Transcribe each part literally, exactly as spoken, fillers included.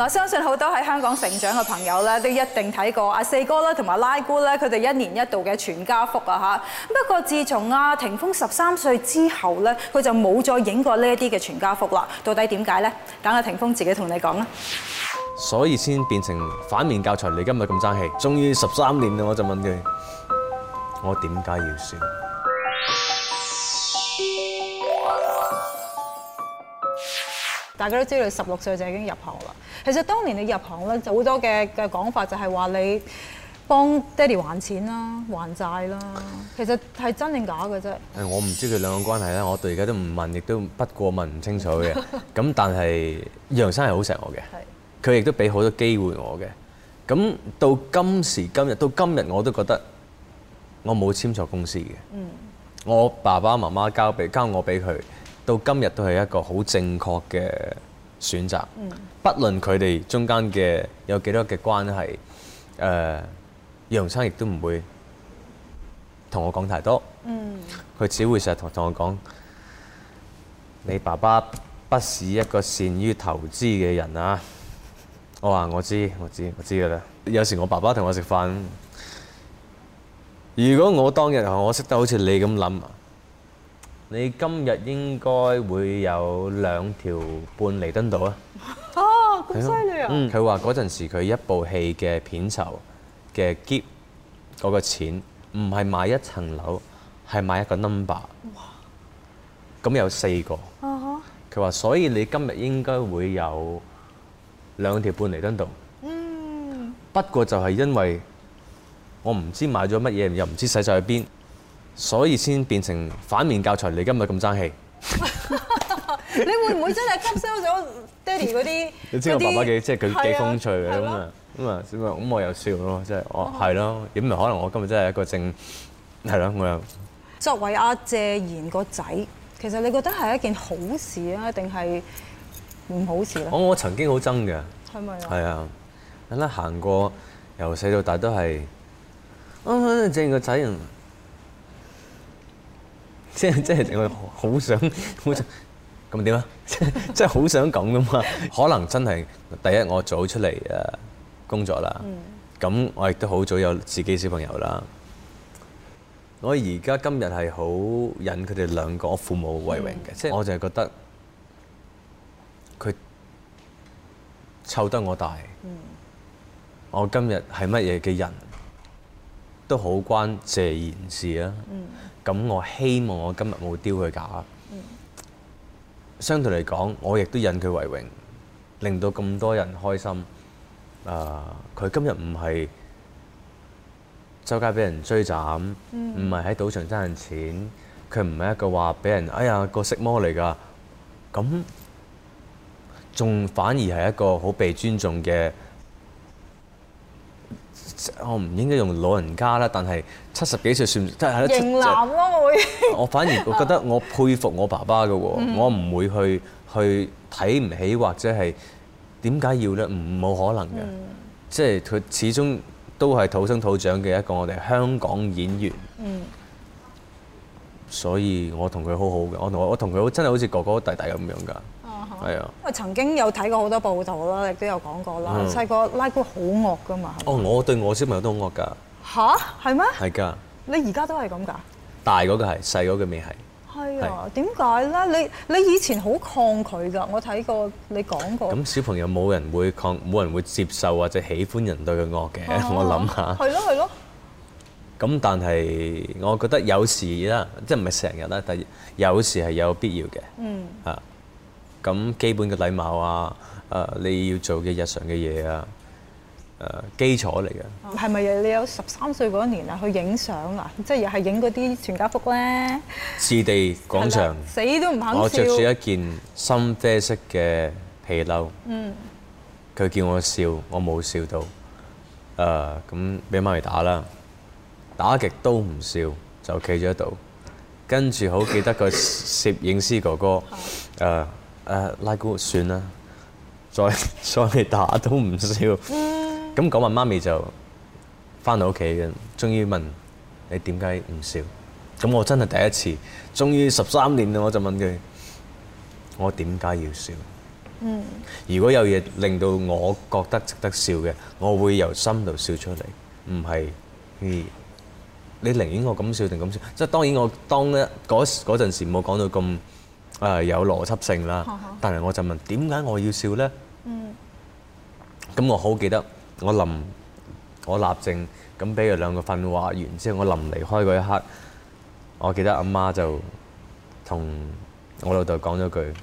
嗱，相信好多喺香港成長嘅朋友咧，都一定睇過阿四哥啦同埋拉姑咧，佢哋一年一度嘅全家福啊嚇。不過自從阿霆鋒十三歲之後咧，佢就冇再影過呢一啲嘅全家福啦。到底點解咧？等阿霆鋒自己同你講啦。 所以先變成反面教材，你今日咁爭氣，終於十三年啦，我就問佢：我點解要笑？ 大家都知道你十六歲就已經入行啦。其實當年你入行咧，就好多嘅嘅講法就係話你幫爹哋還錢啦、還債啦。其實係真定假嘅啫？ 誒，我唔知佢兩個關係啦，我到而家都唔問，亦都不過問唔清楚嘅。咁但係楊生係好錫我嘅，佢亦都俾好多機會我嘅。咁到今時今日，到今日我都覺得我冇簽錯公司嘅。嗯，我爸爸媽媽交俾交我俾佢。到今日都係一個好正確嘅選擇，嗯、不論佢哋中間嘅有幾多嘅關係，誒、呃，楊生亦都唔會同我講太多，佢、嗯、只會成日同同我講：你爸爸不是一個善於投資嘅人啊！我話我知，我知，我知㗎啦。有時我爸爸同我食飯，如果我當日我識得好似你咁諗。你今日應該會有兩條半彌敦道啊！ 哦，咁犀利啊！ 嗯，佢話嗰陣時佢一部戲嘅片酬嘅 keep 嗰個錢，唔係買一層樓，係買一個 number。哇！咁有四個。啊佢話所以你今日應該會有兩條半彌敦道。嗯。不過就係因為我唔知買咗乜嘢，又唔知使晒去邊。所以先變成反面教材，你今日咁爭氣。 你會唔會真係吸收咗爹哋嗰啲？ 你知我爸爸幾即係佢幾風趣嘅咁啊咁啊咁我又笑咯，即係我係咯，點咪可能我今日真係一個正係咯，我又作為阿謝賢個仔，其實你覺得係一件好事啊，定係唔好事咧？ 我我曾經好憎嘅， 係咪啊？係啊，等啦行過由細到大都係啊謝賢個仔人。即係即係我好想好想咁點啊？即係即係好想咁噶嘛？可能真係第一我早出嚟誒工作啦，咁、嗯、我亦都好早有自己小朋友啦。我而家今日係好引佢哋兩個我父母為榮嘅，即係、嗯、我就係覺得佢湊得我大，嗯、我今日係乜嘢嘅人都好關謝賢事啊。嗯咁我希望我今日冇丟佢架。嗯、相對嚟講，我亦都引佢為榮，令到咁多人開心。啊、呃，佢今日唔係周街俾人追斬，唔係喺賭場爭人錢，佢唔係一個話俾人哎呀個色魔嚟㗎。咁仲反而係一個好被尊重嘅。我唔應該用老人家啦，但係七十幾歲算即係型男咯，我會。 我反而我覺得我佩服我爸爸嘅喎，嗯、我唔會去去睇唔起或者係點解要咧？唔冇可能嘅，嗯、即係佢始終都係土生土長嘅一個我哋香港演員。嗯。所以我同佢好好嘅，我同我同佢真係好似哥哥弟弟咁樣㗎。係啊， 因為曾經有睇過好多報道啦，亦都有講過啦。細個拉姑好惡㗎嘛。 哦，我對我小朋友都好惡㗎。 吓？係咩？ 係㗎。 你而家都係咁㗎？ 大嗰個係，細嗰個未係。 係啊，點解咧？你你以前好抗拒㗎，我睇過你講過。咁小朋友冇人會抗，冇人會接受或者喜歡人對佢惡嘅，我諗下。 係咯係咯。 咁但係我覺得有時啦，即係唔係成日啦，但係有時係有必要嘅。嗯。啊。咁基本嘅禮貌啊，誒你要做嘅日常嘅嘢啊，誒基礎嚟嘅。係咪你有十三歲嗰年啊去影相啊？即係又係影嗰啲全家福咧？ 置地廣場。 死都唔肯笑。 我着住一件深啡色嘅皮褸。嗯。佢叫我笑，我冇笑到。誒咁俾媽咪打啦，打極都唔笑，就企咗喺度。跟住好記得個攝影師哥哥誒。誒、uh, 拉姑算啦，再再嚟打都唔笑。咁講完媽咪就翻到屋企嘅，終於問你點解唔笑？咁我真係第一次，終於十三年啦，我就問佢：我點解要笑？ 嗯。 如果有嘢令到我覺得值得笑嘅，我會由心度笑出嚟，唔係嗯你寧願我咁笑定咁笑。即係當然我當咧嗰嗰陣時冇講到咁誒有邏輯性啦，但係我就問點解我要笑咧？嗯。咁我好記得我臨我立正咁俾佢兩個訓話完之後，我臨離開嗰一刻，我記得阿媽就同我老豆講咗句：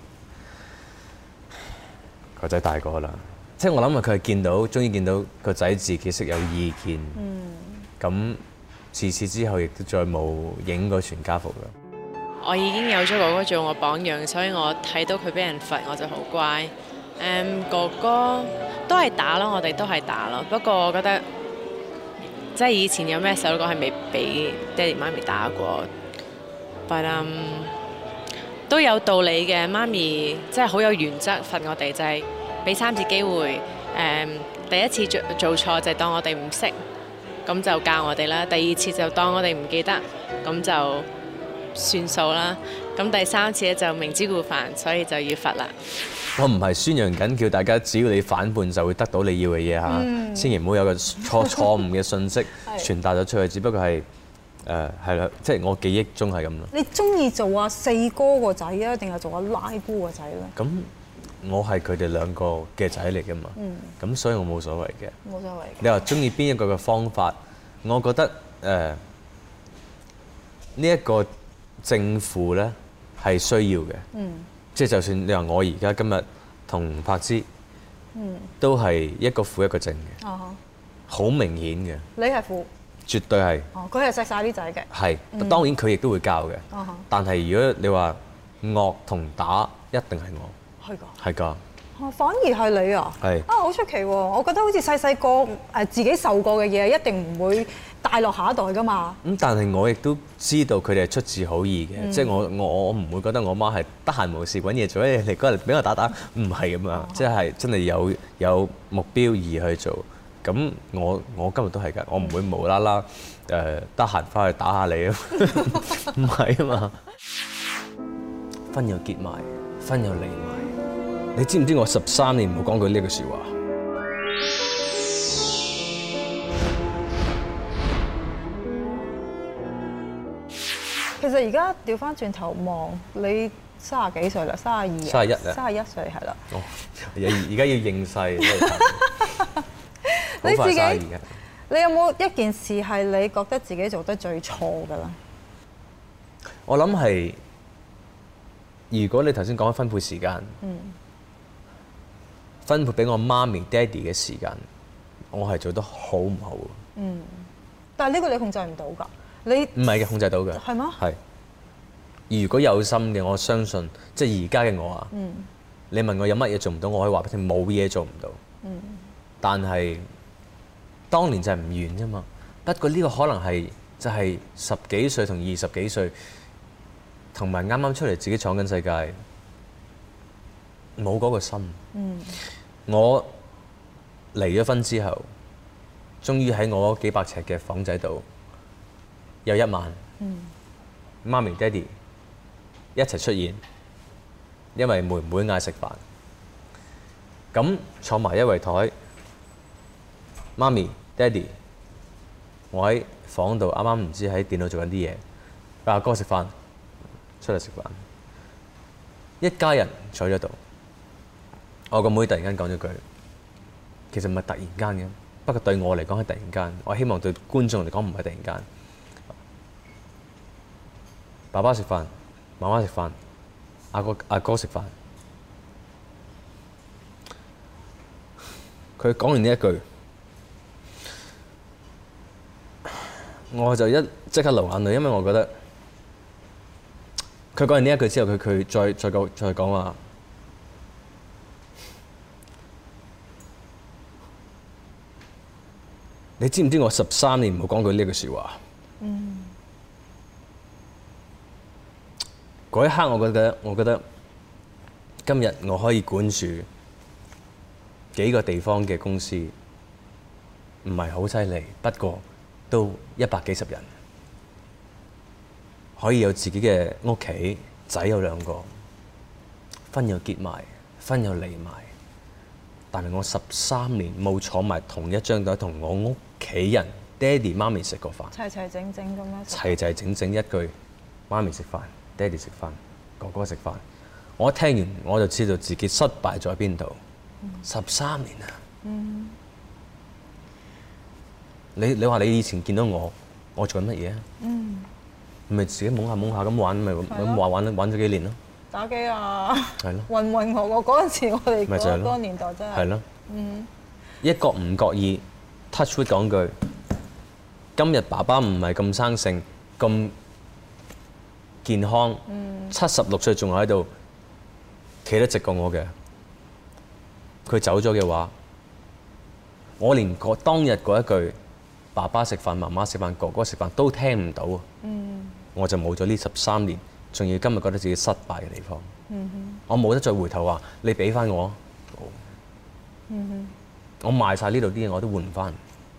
個仔大個啦。即係我諗啊，佢係見到，終於見到個仔自己識有意見。嗯。咁自此之後，亦都再冇影過全家福啦。 我已經有咗哥哥做我榜樣，所以我睇到佢俾人罰，我就好乖。誒，哥哥都係打咯，我哋都係打咯。不過我覺得，即係以前有咩細路哥係未俾爹哋媽咪打過，但係都有道理嘅。媽咪即係好有原則罰我哋，就係俾三次機會。誒，第一次做做錯就當我哋唔識，咁就教我哋啦。第二次就當我哋唔記得，咁就算數啦。咁第三次咧就明知故犯，所以就要罰啦。 我唔係宣揚緊叫大家只要你反叛就會得到你要嘅嘢嚇，嗯、千祈唔好有個錯錯誤嘅信息傳達咗出去。只不過係誒係啦，即係我記憶中係咁咯。 你中意做阿四哥個仔啊，定係做阿拉姑個仔咧？ 咁我係佢哋兩個嘅仔嚟㗎嘛，咁、嗯、所以我冇所謂嘅。 冇所謂。 你話中意邊一個嘅方法？我覺得誒呢一個正負咧係需要嘅。嗯。即係就算你話我而家今日同柏芝，嗯，都係一個負一個正嘅，哦，好明顯嘅。 你係負？ 絕對係。哦， 佢係錫晒啲仔嘅。係， 嗯、當然佢亦都會教嘅。哦、但係如果你話惡同打，一定係我。係㗎。係㗎。 哦，反而係你啊？係。啊，好出奇喎！我覺得好似細細個誒自己受過嘅嘢，一定唔會帶落下一代㗎嘛。咁但係我亦都知道佢哋係出自好意嘅，嗯、即係我我我唔會覺得我媽係得閒無事揾嘢做，誒嚟過嚟俾我打打，唔係咁樣，即係真係有有目標而去做。咁我我今日都係㗎，我唔會無啦啦誒得閒翻去打下你啊，唔係啊嘛。婚又結埋，婚又離埋。你知唔知我十三年冇講過呢句説話？ 其實而家調翻轉頭望你三十幾歲啦，三十二、 三十一啊， 三十一歲係啦。 哦，而家要認細， 你自己，你有冇一件事係你覺得自己做得最錯㗎啦？ 我諗係，如果你頭先講緊分配時間，嗯、分配俾我媽咪、爹哋嘅時間，我係做得好唔好？ 嗯，但係呢個你控制唔到㗎。你唔係嘅，控制到嘅。 係嗎？ 係。如果有心嘅，我相信，即係而家嘅我啊。嗯。你問我有乜嘢做唔到，我可以話俾你聽，冇嘢做唔到。嗯。但係當年就係唔願啫嘛。不過呢個可能係就係十幾歲同二十幾歲，同埋啱啱出嚟自己闖緊世界，冇嗰個心。嗯。我離咗婚之後，終於喺我嗰幾百尺嘅房仔度。有一晚，嗯、媽咪、爹哋一齊出現，因為妹妹嗌食飯，咁坐埋一圍台，媽咪、爹哋，我喺房度啱啱唔知喺電腦做緊啲嘢，阿哥食飯，出嚟食飯，一家人坐咗度，我個妹突然間講咗句，其實唔係突然間嘅，不過對我嚟講係突然間，我希望對觀眾嚟講唔係突然間。爸爸食飯，媽媽食飯，阿哥阿哥食飯。佢講完呢一句，我就一即刻流眼淚，因為我覺得佢講完呢一句之後，佢佢再再講再講話，你知唔知我十三年冇講過呢句説話？嗯。嗰一刻，我覺得，我覺得今日我可以管住幾個地方嘅公司，唔係好犀利，不過都一百幾十人，可以有自己嘅屋企，仔有兩個，婚又結埋， 婚又離埋，但係我十三年冇坐埋同一張台同我屋企人爹哋媽咪食過飯， 齊齊整整咁樣。 齊齊整整一句媽咪食飯，爹哋食飯，哥哥食飯。我一聽完我就知道自己失敗咗喺邊度。十三年啊！ 嗯、 你你話你以前見到我，我做緊乜嘢啊？ 嗯， 咪自己懵下懵下咁玩，咪咁玩玩玩咗幾年咯。 打機啊！ 係咯。 混混我我嗰陣時，我哋嗰嗰個年代真係。係咯。 嗯。 一覺唔覺意 touch wood 講句，今日爸爸唔係咁生性，咁健康，七十六歲仲喺度企得直過我嘅。佢走咗嘅話，我連嗰當日嗰一句爸爸食飯、媽媽食飯、哥哥食飯都聽唔到啊！嗯、我就冇咗呢十三年，仲要今日覺得自己失敗嘅地方。嗯、我冇得再回頭話你俾翻我，嗯、我賣晒呢度啲嘢我都換唔翻，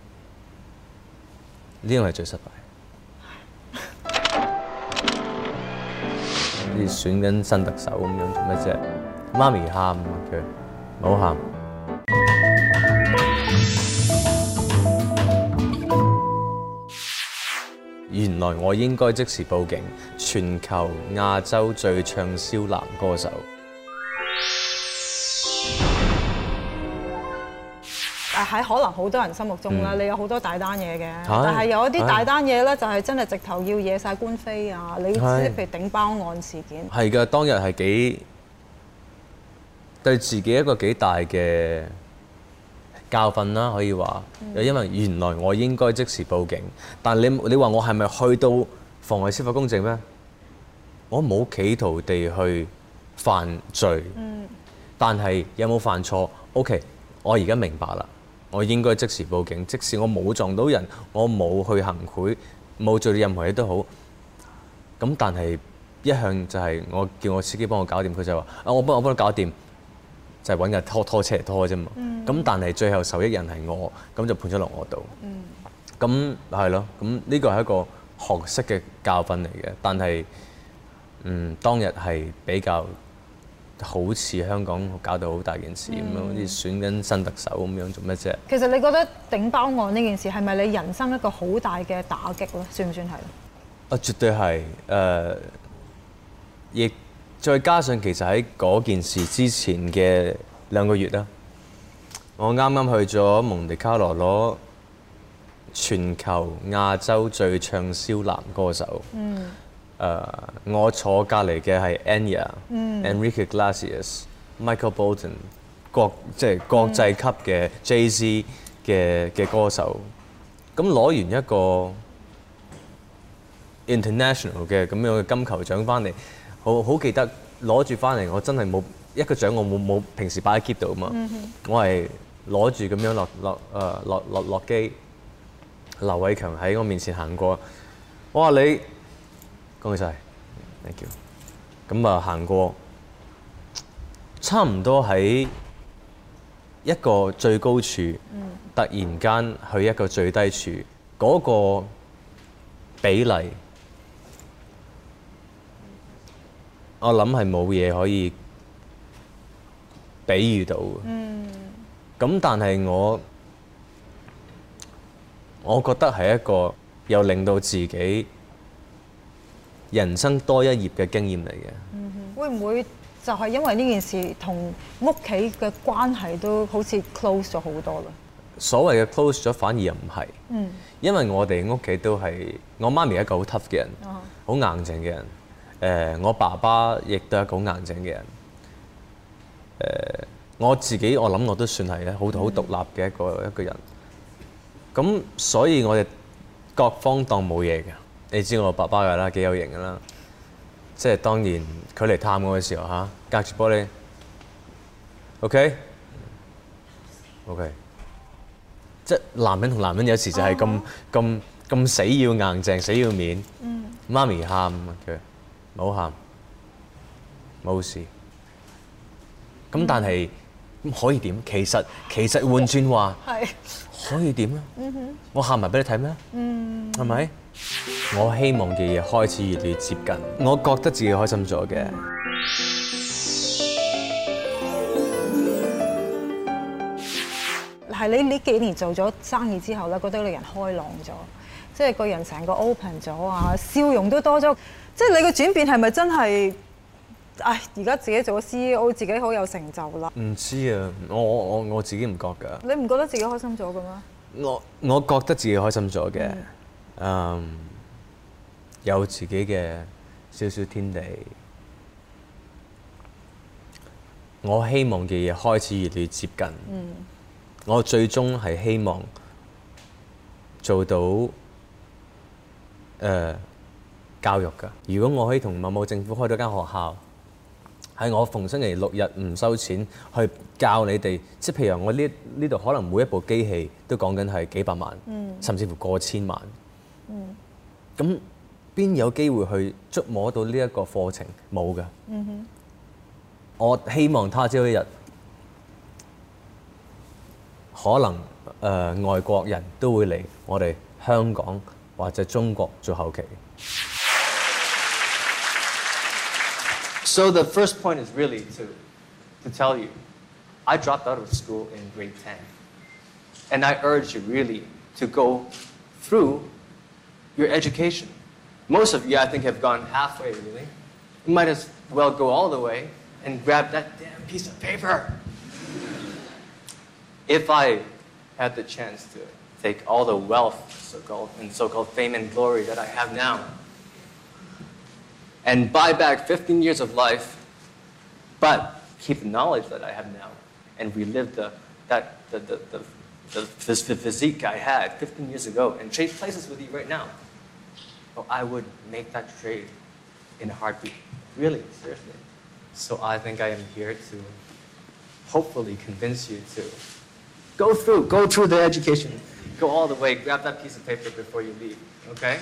呢樣係最失敗。好似選緊新特首咁樣做咩啫？媽咪喊佢。唔好喊！原來我應該即時報警，全球亞洲最暢銷男歌手。 誒喺可能好多人心目中啦，嗯、你有好多大單嘢嘅， 是但係有一啲大單嘢咧，就係真係直頭要惹晒官非啊！你知譬如頂包案事件。 係㗎，當日係幾對自己一個幾大嘅教訓啦，可以話。又、嗯、因為原來我應該即時報警，但你你話我係咪去到妨礙司法公正咩？我冇企圖地去犯罪，嗯、但係有冇犯錯 ？OK， 我而家明白啦，我應該即時報警。即使我冇撞到人，我冇去行賄，冇做到任何嘢都好。咁但係一向就係我叫我司機幫我搞掂，佢就話啊，我幫我幫你搞掂。就係揾架拖拖車嚟拖啫嘛，咁、嗯、但係最後受益人係我，咁就判咗落我度。咁係咯，咁呢個係一個學識嘅教訓嚟嘅。但係嗯當日係比較好似香港搞到好大件事咁樣，好似、嗯、選緊新特首咁樣做咩啫？其實你覺得頂包案呢件事係咪你人生一個好大嘅打擊咧？算唔算係？ 啊，絕對係誒，亦、呃。再加上其實喺嗰件事之前嘅兩個月啦，我啱啱去咗蒙地卡羅攞全球亞洲最暢銷男歌手。嗯。誒、呃，我坐隔離嘅係 Enya、嗯、Enrique Iglesias、Michael Bolton， 國即係國際級嘅 Jay-Z 嘅嘅歌手。咁攞完一個 international 嘅咁樣嘅金球獎翻嚟。好好記得攞住翻嚟，我真係冇一個獎，我冇冇平時擺喺 keep 度啊嘛。Mm hmm. 我係攞住咁樣落落誒落落落機，劉偉強喺我面前行過，我話你恭喜晒 ，thank you。咁啊行過，差唔多喺一個最高處，mm hmm. 突然間去一個最低處，嗰個比例。我諗係冇嘢可以比喻到嘅。嗯。咁但係我，我覺得係一個又令到自己人生多一頁嘅經驗嚟嘅。嗯哼。會唔會就係因為呢件事同屋企嘅關係都好似 close 咗好多啦？所謂嘅 close 咗，反而又唔係。嗯。因為我哋屋企都係我媽咪係一個好 tough 嘅人，好、uh huh. 硬淨嘅人。誒、呃，我爸爸亦都係一個好硬淨嘅人。誒、呃，我自己我諗我都算係咧，好好獨立嘅一個一個人。咁所以我哋各方當冇嘢嘅。你知我爸爸㗎啦，幾有型㗎啦。即係當然佢嚟探我嘅時候嚇，隔住玻璃。OK，OK，、okay? okay. 即係男人同男人有時就係咁咁咁死要硬淨，死要面。嗯、媽咪喊佢。唔好喊，冇事。咁但係可以點？其實其實換轉話，係可以點咧？嗯哼，我喊埋俾你睇咩？嗯，係咪？我希望嘅嘢開始越嚟越接近，我覺得自己開心咗嘅。 係你呢幾年做咗生意之後咧，覺得你人開朗咗，即係個人成個 open 咗啊，笑容都多咗。即係你嘅轉變係咪真係？唉，而家自己做咗 C E O， 自己好有成就啦。 唔知啊，我我我自己唔覺㗎。 你唔覺得自己開心咗嘅咩？ 我我覺得自己開心咗嘅，嗯、um, 有自己嘅少少天地。我希望嘅嘢開始越嚟越接近。嗯、我最終係希望做到誒、呃、教育㗎。如果我可以同某某政府開到間學校，喺我逢星期六日唔收錢去教你哋，即係譬如我呢呢度可能每一部機器都講緊係幾百萬，嗯、甚至乎過千萬。咁邊、嗯、有機會去觸摸到呢一個課程？冇㗎。嗯、哼我希望他朝一日，可能誒、呃、外國人都會嚟我哋香港或者中國做後期。 So the first point is really to, to tell you, I dropped out of school in grade ten. And I urge you really to go through your education. Most of you, I think, have gone halfway, really. You might as well go all the way and grab that damn piece of paper. If I had the chance to take all the wealth so-called, and so-called fame and glory that I have now, and buy back fifteen years of life, but keep the knowledge that I have now and relive the, that, the, the, the, the, the physique I had fifteen years ago and trade places with you right now. Oh, I would make that trade in a heartbeat. Really, seriously. So I think I am here to hopefully convince you to go through, go through the education, go all the way, grab that piece of paper before you leave, okay?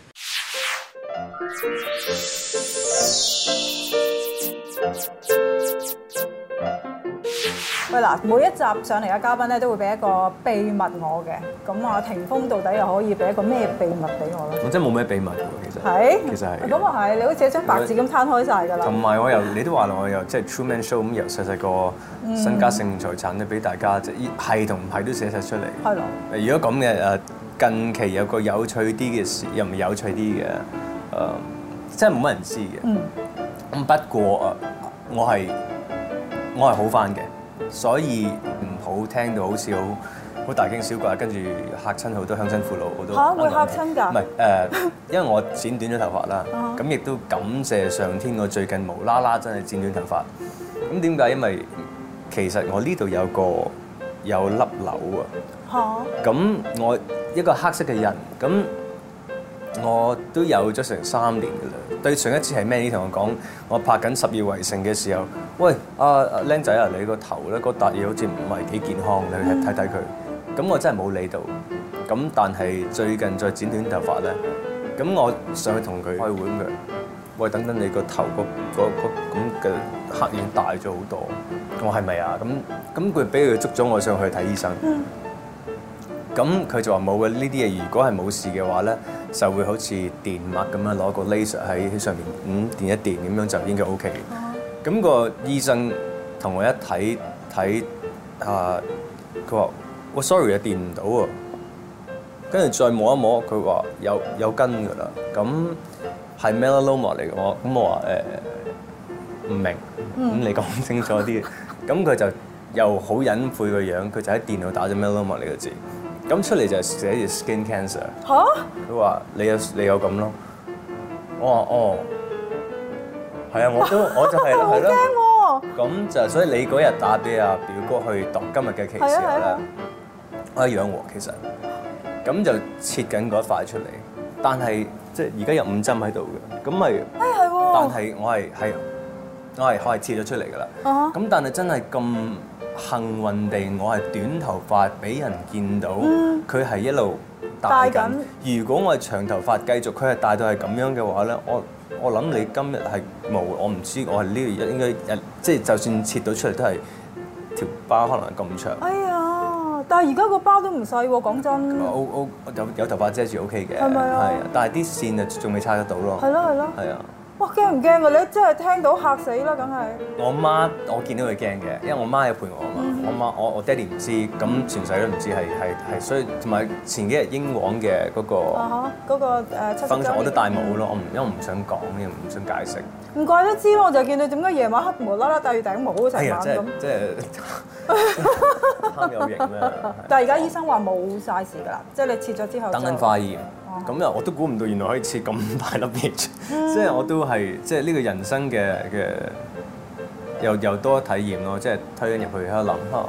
喂嗱，每一集上嚟嘅嘉賓咧，都會俾一個秘密我嘅。咁啊，霆鋒到底又可以俾一個咩秘密俾我咧？ 我真係冇咩秘密喎，其實。 係。 其實係。 咁啊係，你好似一張白紙咁攤開晒㗎啦。 同埋我又，你都話我又即係 Truman Show 咁，由細細個身家性財產咧，俾大家即係係同唔係都寫晒出嚟。係咯。如果咁嘅誒，近期有個有趣啲嘅事，又唔係有趣啲嘅誒，真係冇乜人知嘅。嗯。咁不過誒，我係我係好翻嘅。所以唔好聽到好似好好大驚小怪，跟住嚇親好多鄉親父老好多。 嚇會嚇親㗎？ 唔係誒，因為我剪短咗頭髮啦，咁亦都感謝上天，我最近無啦啦真係剪短頭髮。咁點解？因為其實我呢度有個有粒瘤啊。嚇！咁我一個黑色嘅人，咁我都有咗成三年㗎啦。對上一次係咩？你同我講，我拍緊《十月圍城》嘅時候，喂，阿阿僆仔啊，你個頭咧嗰笪嘢好似唔係幾健康，你去睇睇佢。咁我真係冇理到。咁但係最近再剪短頭髮咧，咁我上去同佢開會咁嘅，喂，等等你個頭個個個咁嘅黑影大咗好多。我係咪啊？咁咁佢俾佢捉咗我上去睇醫生。咁佢就話冇嘅，呢啲嘢如果係冇事嘅話咧，就會好似電脈咁樣攞個 laser 喺上面咁電一電咁樣就應該 OK。咁個醫生同我一睇睇啊，佢話我 sorry 啊，電唔到喎。跟住再摸一摸，佢話有有根㗎啦。咁係 melanoma 嚟嘅，我咁我話誒唔明，咁你講清楚啲。咁佢就又好隱晦個樣，佢就喺電腦打咗 melanoma 呢個字。咁出嚟就寫住 skin cancer。嚇！佢話你有你有咁咯。我話哦，係啊，我都我就係係咯。咁就所以你嗰日打俾阿表哥去度今日嘅期時候咧，我一樣喎其實。咁就切緊嗰一塊出嚟，但係即係而家有五針喺度嘅，咁咪誒係喎。但係我係係我係我係切咗出嚟㗎啦。咁、uh huh. 但係真係咁幸運地，我係短頭髮俾人見到，佢係、mm. 一路大緊。如果我係長頭髮，繼續佢係大到係咁樣嘅話咧，我我諗你今日係冇，我唔知我係呢個應該即係就算切到出嚟都係條疤可能係咁長。哎呀！但係而家個包都唔細喎，講真。O O 有有頭髮遮住 O K 嘅，係咪啊？係啊，但係啲線啊仲未拆得到咯。係咯係咯。係啊。哇！驚唔驚啊？你真係聽到嚇死啦，梗係。我媽我見到佢驚嘅，因為我媽有陪我啊嘛。 我媽我我爹哋唔知，咁全世界都唔知係係係，所以同埋前幾日英皇嘅嗰個嗰個誒七十週年我都戴帽咯，我唔因為我唔想講，因為唔想解釋。 唔怪得知咯，我就見到點解夜晚黑無啦啦戴住頂帽成晚咁。 即係貪有型啦。 但係而家醫生話冇晒事㗎啦，即係你切咗之後。 等緊化驗。咁又我都估唔到，原來可以切咁大粒嘢，即係我都係即係呢個人生嘅嘅又又多體驗咯，即係推緊入去喺度諗下。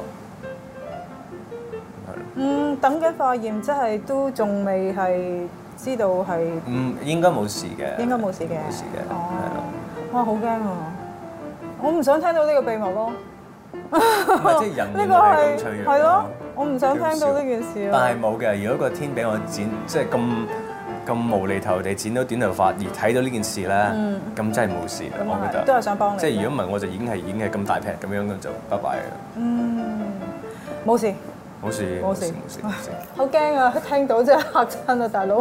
嗯，等緊化驗，即係都仲未係知道係。 嗯，應該冇事嘅。應該冇事嘅。 冇事嘅。 哦。哇，好驚啊！我唔想聽到呢個秘密咯。 唔係即係人呢個係咁脆弱。 係咯，我唔想聽到呢件事。 但係冇嘅，如果個天俾我剪，即係咁咁無厘頭地剪到短頭髮，而睇到呢件事咧，咁真係冇事啦，我覺得。 都係想幫你。 即係如果唔係，我就已經係已經係咁大劈咁樣咁就拜拜啦。 嗯，冇事。 冇事。冇事冇事冇事。 好驚啊！聽到真係嚇親啊，大佬。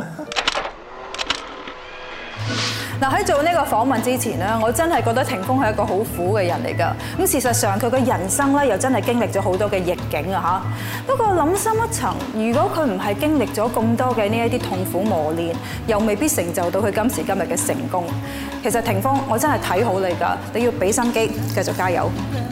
嗱，喺做呢個訪問之前咧，我真係覺得霆鋒係一個好苦嘅人嚟㗎。咁事實上佢嘅人生咧又真係經歷咗好多嘅逆境啊嚇。不過諗深一層，如果佢唔係經歷咗咁多嘅呢一啲痛苦磨練，又未必成就到佢今時今日嘅成功。其實霆鋒，我真係睇好你㗎，你要俾心機，繼續加油。